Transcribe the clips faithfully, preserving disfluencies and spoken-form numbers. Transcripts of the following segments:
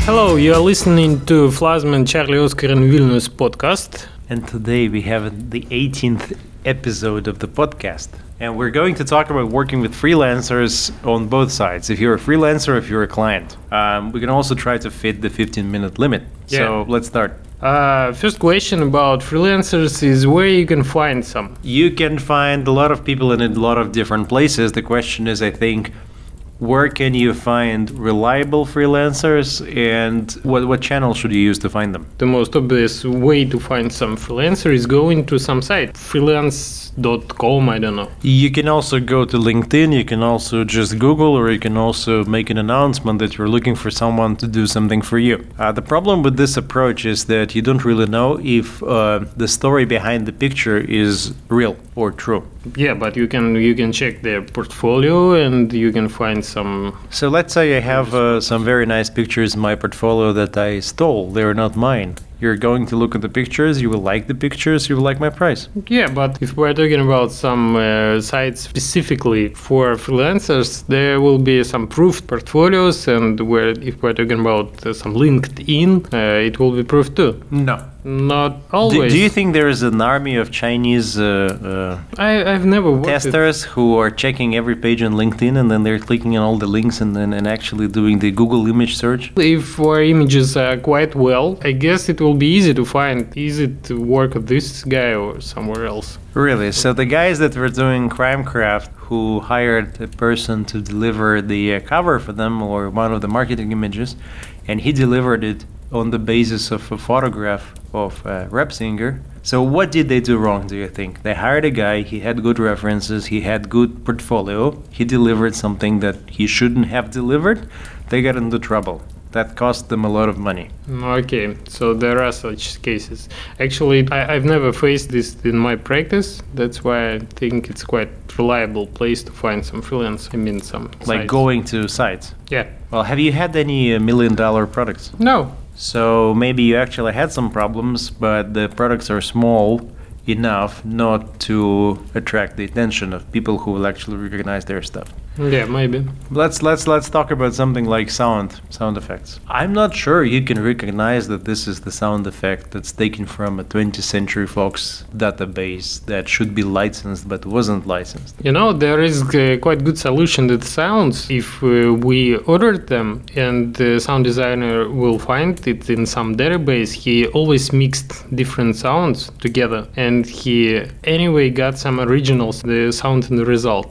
Hello, you are listening to Flasman, Charlie, Oscar and Vilnius podcast. And today we have the eighteenth episode of the podcast. And we're going to talk about working with freelancers on both sides. If you're a freelancer, if you're a client. Um, we can also try to fit the fifteen minute limit. Yeah. So let's start. Uh, first question about freelancers is where you can find some. You can find a lot of people in a lot of different places. The question is, I think, where can you find reliable freelancers, and what, what channel should you use to find them? The most obvious way to find some freelancer is going to some site, freelance dot com, I don't know. You can also go to LinkedIn, you can also just Google, or you can also make an announcement that you're looking for someone to do something for you. Uh, the problem with this approach is that you don't really know if uh, the story behind the picture is real or true. Yeah, but you can you can check their portfolio and you can find some... So let's say I have uh, some very nice pictures in my portfolio that I stole. They're not mine. You're going to look at the pictures, you will like the pictures, you will like my price. Yeah, but if we're talking about some uh, sites specifically for freelancers, there will be some proof portfolios, and where if we're talking about uh, some LinkedIn, uh, it will be proof too. No. Not Do, always. do you think there is an army of Chinese uh, uh, I, I've never worked testers who are checking every page on LinkedIn and then they're clicking on all the links and then and actually doing the Google image search? If our images are quite well, I guess it will be easy to find, easy to work with this guy or somewhere else. Really? So the guys that were doing Crimecraft, who hired a person to deliver the uh, cover for them or one of the marketing images, and he delivered it on the basis of a photograph of uh, Repsinger. So what did they do wrong, do you think? They hired a guy, he had good references, he had good portfolio, he delivered something that he shouldn't have delivered, they got into trouble. That cost them a lot of money. Okay, so there are such cases. Actually, I, I've never faced this in my practice. That's why I think it's quite reliable place to find some freelance. I mean, some Like sites. going to sites. Yeah. Well, have you had any uh, million dollar products? No. So maybe you actually had some problems, but the products are small enough not to attract the attention of people who will actually recognize their stuff. Yeah, maybe. Let's let's let's talk about something like sound sound effects. I'm not sure you can recognize that this is the sound effect that's taken from a twentieth Century Fox database that should be licensed but wasn't licensed. You know, there is a quite good solution to the sounds. If uh, we ordered them and the sound designer will find it in some database, he always mixed different sounds together, and he anyway got some originals, the sound in the result.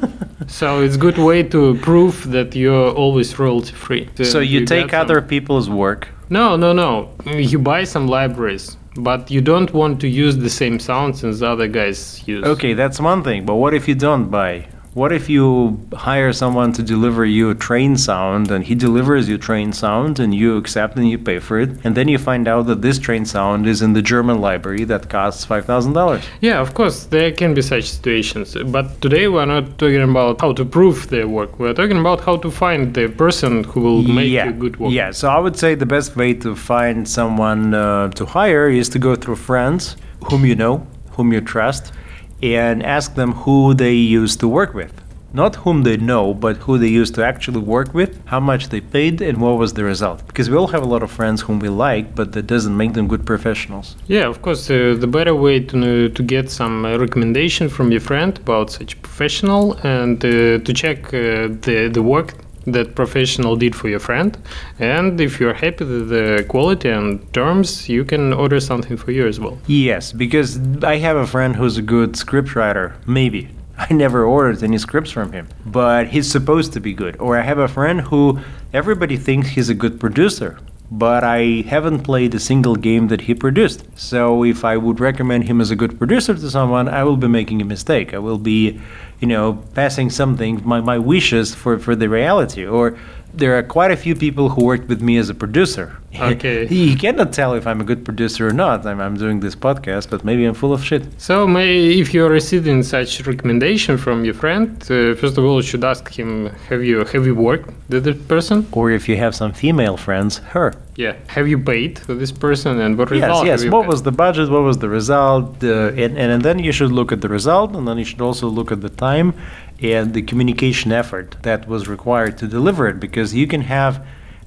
So it's a good way to prove that you're always royalty free. So you, you take other people's work. No, no, no. You buy some libraries, but you don't want to use the same sounds as other guys use. Okay, that's one thing. But what if you don't buy? What if you hire someone to deliver you a train sound, and he delivers you train sound and you accept and you pay for it, and then you find out that this train sound is in the German library that costs five thousand dollars? Yeah, of course, there can be such situations. But today we're not talking about how to prove their work. We're talking about how to find the person who will make yeah. a good work. Yeah, so I would say the best way to find someone uh, to hire is to go through friends whom you know, whom you trust, and ask them who they used to work with. Not whom they know, but who they used to actually work with, how much they paid, and what was the result. Because we all have a lot of friends whom we like, but that doesn't make them good professionals. Yeah, of course, uh, the better way to uh, to get some uh, recommendation from your friend about such professional, and uh, to check uh, the, the work that professional did for your friend, and if you're happy with the quality and terms, you can order something for you as well. Yes, because I have a friend who's a good scriptwriter, maybe. I never ordered any scripts from him, but he's supposed to be good. Or I have a friend who everybody thinks he's a good producer, but I haven't played a single game that he produced. So if I would recommend him as a good producer to someone, I will be making a mistake. I will be, you know, passing something, my, my wishes for, for the reality. Or there are quite a few people who worked with me as a producer. Okay. You cannot tell if I'm a good producer or not. I'm, I'm doing this podcast, but maybe I'm full of shit. So may, if you're receiving such recommendation from your friend, uh, first of all, you should ask him, have you have you worked with this person? Or if you have some female friends, her. Yeah. Have you paid for this person, and what Yes, result? yes. have you What got? was the budget? What was the result? Uh, and, and then you should look at the result, and then you should also look at the time and the communication effort that was required to deliver it, because you can have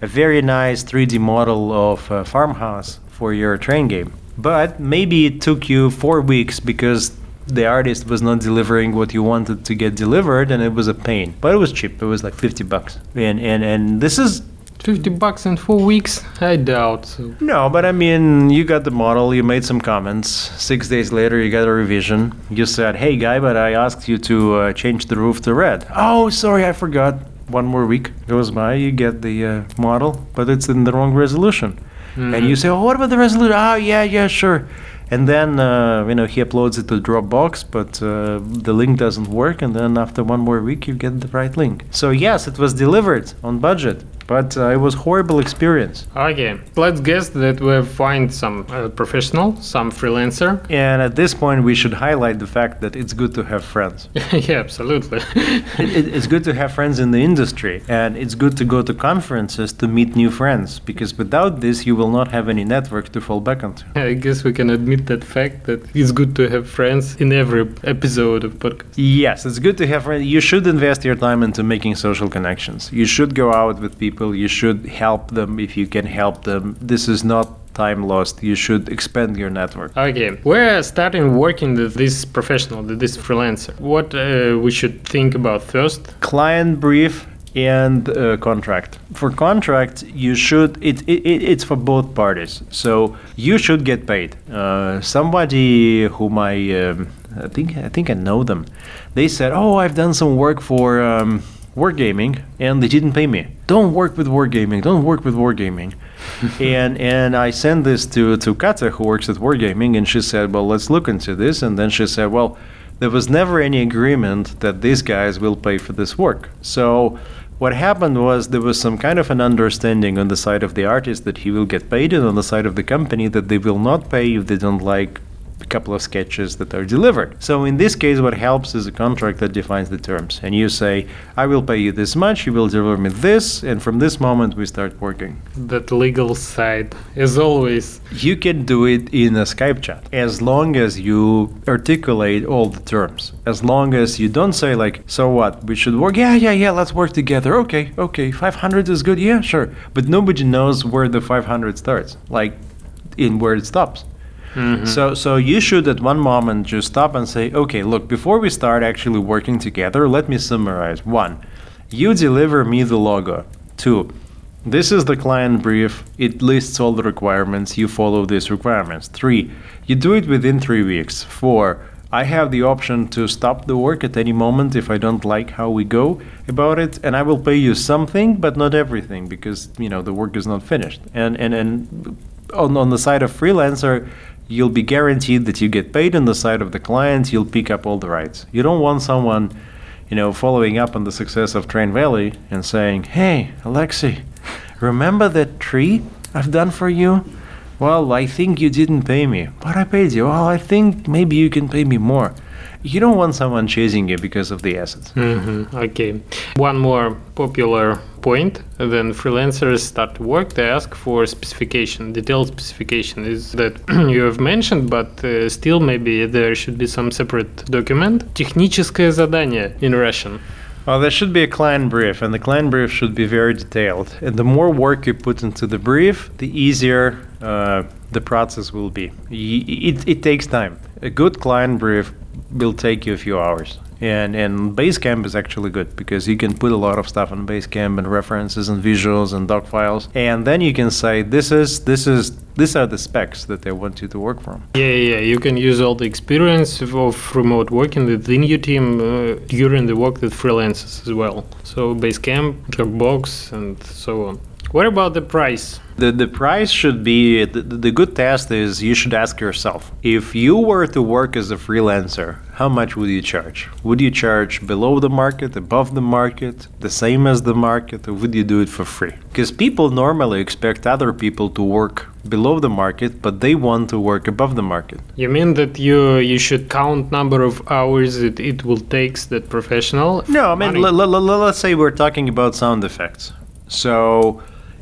a very nice three D model of a farmhouse for your train game. But maybe it took you four weeks because the artist was not delivering what you wanted to get delivered, and it was a pain. But it was cheap. It was like fifty bucks. And and, and this is fifty bucks in four weeks? I doubt so. No, but I mean, you got the model, you made some comments. Six days later, you got a revision. You said, hey, guy, but I asked you to uh, change the roof to red. Oh, sorry, I forgot. One more week goes by, you get the uh, model, but it's in the wrong resolution. Mm-hmm. And you say, oh, what about the resolution? Oh, yeah, yeah, sure. And then, uh, you know, he uploads it to Dropbox, but uh, the link doesn't work. And then after one more week, you get the right link. So yes, it was delivered on budget, but uh, it was horrible experience. Okay, let's guess that we find some uh, professional, some freelancer. And at this point, we should highlight the fact that it's good to have friends. Yeah, absolutely. it, it's good to have friends in the industry, and it's good to go to conferences to meet new friends, because without this, you will not have any network to fall back onto. I guess we can admit that fact that it's good to have friends in every episode of podcast. Yes, it's good to have friends. You should invest your time into making social connections. You should go out with people. You should help them if you can help them. This is not time lost. You should expand your network. Okay, we're starting working with this professional, with this freelancer. What uh, we should think about first? Client brief and uh, contract. For contract, you should, it, it, it's for both parties. So you should get paid. Uh, somebody whom I, um, I think, I think I know them. They said, oh, I've done some work for um, Wargaming and they didn't pay me. Don't work with Wargaming, don't work with Wargaming. and and I sent this to, to Kata, who works at Wargaming, and she said, well, let's look into this. And then she said, well, there was never any agreement that these guys will pay for this work. So what happened was there was some kind of an understanding on the side of the artist that he will get paid, and on the side of the company that they will not pay if they don't like a couple of sketches that are delivered. So in this case, what helps is a contract that defines the terms. And you say, I will pay you this much, you will deliver me this, and from this moment we start working. That legal side, as always. You can do it in a Skype chat, as long as you articulate all the terms. As long as you don't say like, so what, we should work? Yeah, yeah, yeah, let's work together. Okay, okay, five hundred is good, yeah, sure. But nobody knows where the five hundred starts, like in where it stops. Mm-hmm. So so you should at one moment just stop and say, okay, look, before we start actually working together, let me summarize. One, you deliver me the logo. Two, this is the client brief. It lists all the requirements. You follow these requirements. Three, you do it within three weeks. Four, I have the option to stop the work at any moment if I don't like how we go about it, and I will pay you something, but not everything, because, you know, the work is not finished. And and, and on, on the side of freelancer, you'll be guaranteed that you get paid. On the side of the client, you'll pick up all the rights. You don't want someone, you know, following up on the success of Train Valley and saying, hey, Alexei, remember that tree I've done for you? Well, I think you didn't pay me, but I paid you. Well, I think maybe you can pay me more. You don't want someone chasing you because of the assets. Mm-hmm. Okay. One more popular point, then freelancers start to work, they ask for specification, detailed specification. Is that you have mentioned, but uh, still maybe there should be some separate document. Техническое задание in Russian. Well, there should be a client brief, and the client brief should be very detailed. And the more work you put into the brief, the easier uh, the process will be. It, it takes time. A good client brief will take you a few hours. And and Basecamp is actually good because you can put a lot of stuff on Basecamp and references and visuals and doc files, and then you can say this is this is these are the specs that they want you to work from. Yeah, yeah, you can use all the experience of remote working within your team uh, during the work with freelancers as well. So Basecamp, Dropbox, and so on. What about the price? The the price should be, the, the good test is you should ask yourself, if you were to work as a freelancer, how much would you charge? Would you charge below the market, above the market, the same as the market, or would you do it for free? Because people normally expect other people to work below the market, but they want to work above the market. You mean that you you should count number of hours that it will take that professional? No, I mean, l- l- l- let's say we're talking about sound effects. So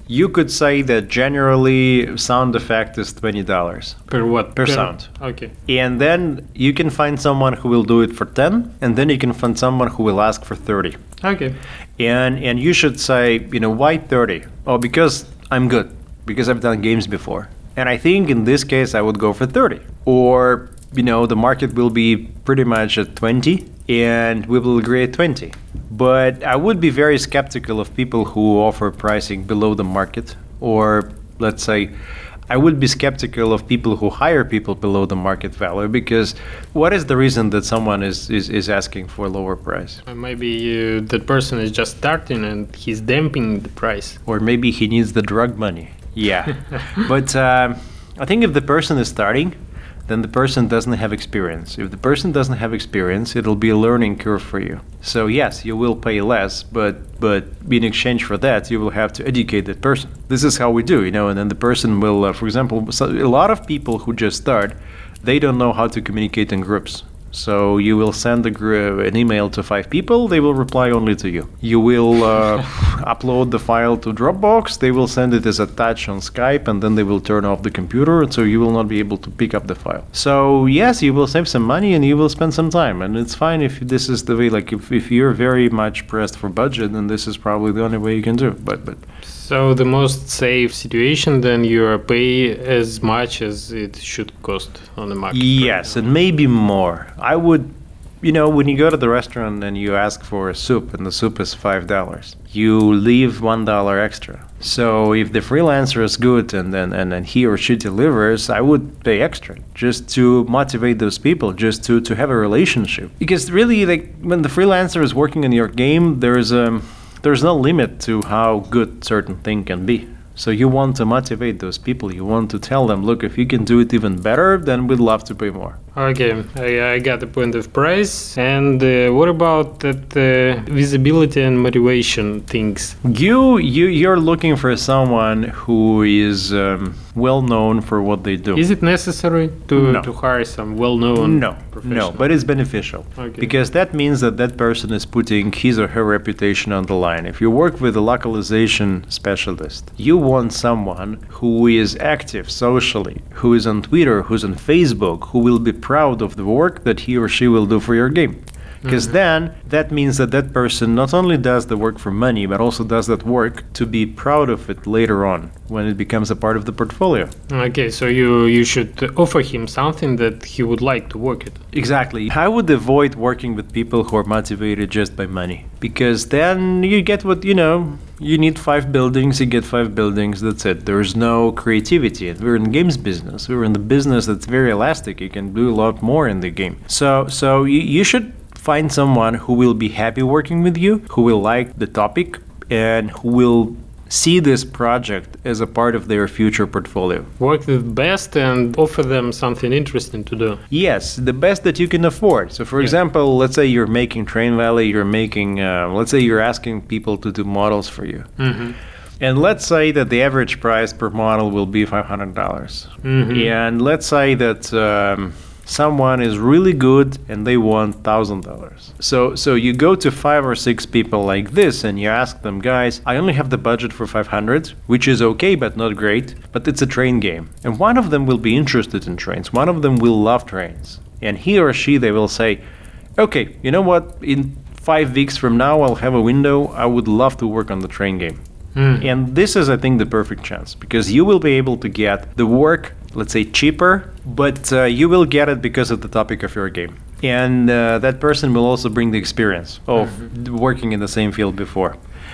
You could say that generally sound effect is twenty dollars. Per what? Per sound. Okay. And then you can find someone who will do it for ten, and then you can find someone who will ask for thirty. Okay. And and you should say, you know, why thirty? Oh, because I'm good. Because I've done games before. And I think in this case I would go for thirty. Or, you know, the market will be pretty much at twenty and we will agree at twenty. But I would be very skeptical of people who offer pricing below the market. Or let's say I would be skeptical of people who hire people below the market value, because what is the reason that someone is, is, is asking for a lower price? Uh, Maybe uh, that person is just starting and he's damping the price. Or maybe he needs the drug money. Yeah. But um, I think if the person is starting, then the person doesn't have experience. If the person doesn't have experience, it'll be a learning curve for you. So yes, you will pay less, but but in exchange for that, you will have to educate that person. This is how we do, you know, and then the person will, uh, for example, so a lot of people who just start, they don't know how to communicate in groups. So you will send a gr- an email to five people, they will reply only to you. You will uh, upload the file to Dropbox, they will send it as a touch on Skype, and then they will turn off the computer, so you will not be able to pick up the file. So yes, you will save some money and you will spend some time, and it's fine if this is the way, like if, if you're very much pressed for budget, then this is probably the only way you can do it. But, but So the most safe situation, then you pay as much as it should cost on the market. yes, and maybe more. I would, you know, when you go to the restaurant and you ask for a soup and the soup is five dollars, you leave one dollar extra. So if the freelancer is good and then and, and he or she delivers, I would pay extra just to motivate those people, just to, to have a relationship. Because really, like when the freelancer is working in your game, there's a there's no limit to how good certain thing can be. So you want to motivate those people. You want to tell them, look, if you can do it even better, then we'd love to pay more. Okay, I, I got the point of price. And uh, what about that uh, visibility and motivation things? You you you're looking for someone who is um, well known for what they do. Is it necessary to, No. to hire some well-known No, professional? no, but it's beneficial. Okay. Because that means that that person is putting his or her reputation on the line. If you work with a localization specialist, you want someone who is active socially, who is on Twitter, who's on Facebook, who will be proud of the work that he or she will do for your game. Because Mhm. then that means that that person not only does the work for money, but also does that work to be proud of it later on when it becomes a part of the portfolio. Okay, so you, you should offer him something that he would like to work at. Exactly. I would avoid working with people who are motivated just by money, because then you get what, you know, you need five buildings, you get five buildings, that's it. There's no creativity. We're in games business. We're in the business that's very elastic. You can do a lot more in the game. So so you, you should find someone who will be happy working with you, who will like the topic, and who will see this project as a part of their future portfolio. Work with best and offer them something interesting to do. Yes, the best that you can afford. So, for Yeah. example, let's say you're making Train Valley, you're making, uh, let's say you're asking people to do models for you. Mm-hmm. And let's say that the average price per model will be five hundred dollars. Mhm. And let's say that um, someone is really good and they want one thousand dollars. So so you go to five or six people like this and you ask them, guys, I only have the budget for five hundred, which is okay but not great, but it's a train game. And one of them will be interested in trains. One of them will love trains. And he or she, they will say, okay, you know what? In five weeks from now, I'll have a window. I would love to work on the train game. Mm. And this is, I think, the perfect chance, because you will be able to get the work, let's say, cheaper, but uh, you will get it because of the topic of your game. And uh, that person will also bring the experience of Mhm. working in the same field before.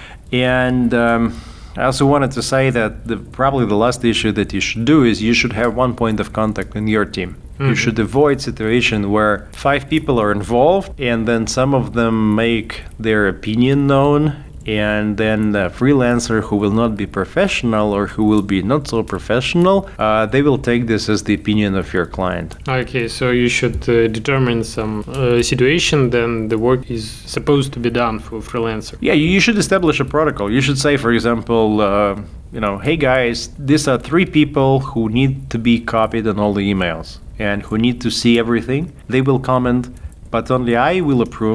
And um, I also wanted to say that the, probably the last issue that you should do is you should have one point of contact in your team. You Mhm. should avoid situation where five people are involved and then some of them make their opinion known, and then the freelancer who will not be professional or who will be not so professional, uh, they will take this as the opinion of your client. Okay, so you should uh, determine some uh, situation, then the work is supposed to be done for freelancer. Yeah, you you should establish a protocol. You should say, for example, uh, you know, hey guys, these are three people who need to be copied on all the emails and who need to see everything. They will comment, but only I will approve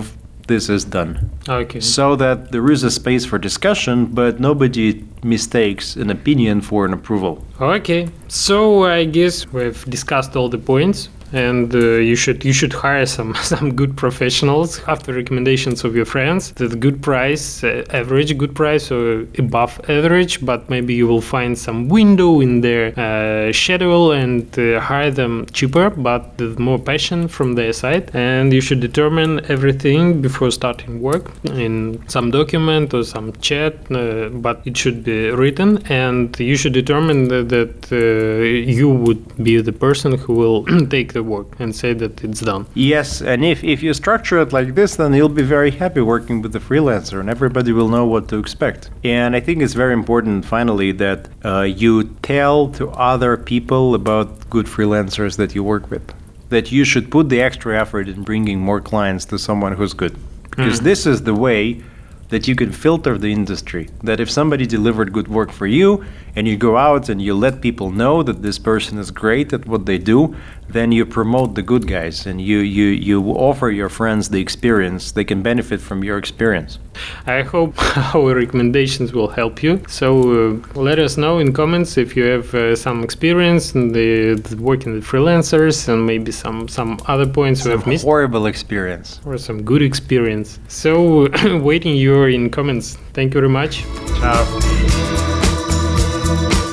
this is done. Okay. So that there is a space for discussion, but nobody mistakes an opinion for an approval. Okay. So I guess we've discussed all the points. And uh, you should you should hire some some good professionals after recommendations of your friends. The good price, uh, average good price or above average, but maybe you will find some window in their uh, schedule and uh, hire them cheaper, but with more passion from their side. And you should determine everything before starting work in some document or some chat, uh, but it should be written. And you should determine that, that uh, you would be the person who will take the work and say that it's done. Yes, and if, if you structure it like this, then you'll be very happy working with the freelancer and everybody will know what to expect. And I think it's very important, finally, that uh, you tell to other people about good freelancers that you work with, that you should put the extra effort in bringing more clients to someone who's good. Because mm. this is the way that you can filter the industry. That if somebody delivered good work for you and you go out and you let people know that this person is great at what they do, then you promote the good guys and you, you, you offer your friends the experience. They can benefit from your experience. I hope our recommendations will help you. So uh, let us know in comments if you have uh, some experience in the, the working with freelancers and maybe some, some other points some we have missed. Horrible experience. Or some good experience. So waiting you in comments. Thank you very much. Ciao.